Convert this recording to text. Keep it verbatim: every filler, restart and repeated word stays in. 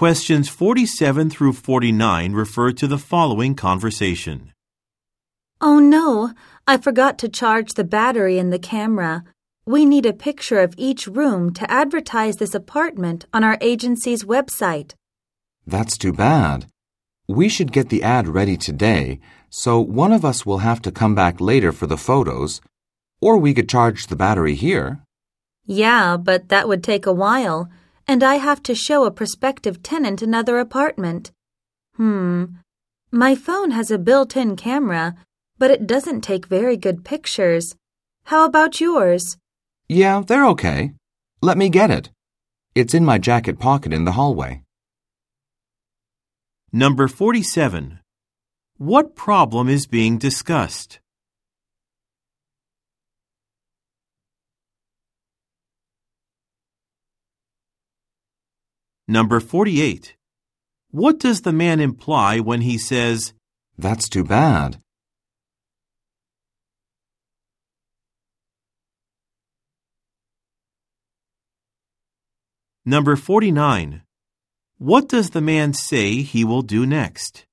Questions forty-seven through forty-nine refer to the following conversation. Oh no, I forgot to charge the battery in the camera. We need a picture of each room to advertise this apartment on our agency's website. That's too bad. We should get the ad ready today, so one of us will have to come back later for the photos, or we could charge the battery here. Yeah, but that would take a while, and I have to show a prospective tenant another apartment. Hmm, my phone has a built-in camera, but it doesn't take very good pictures. How about yours? Yeah, they're okay. Let me get it. It's in my jacket pocket in the hallway. Number forty-seven. What problem is being discussed? Number forty-eight. What does the man imply when he says, That's too bad. Number forty-nine. What does the man say he will do next?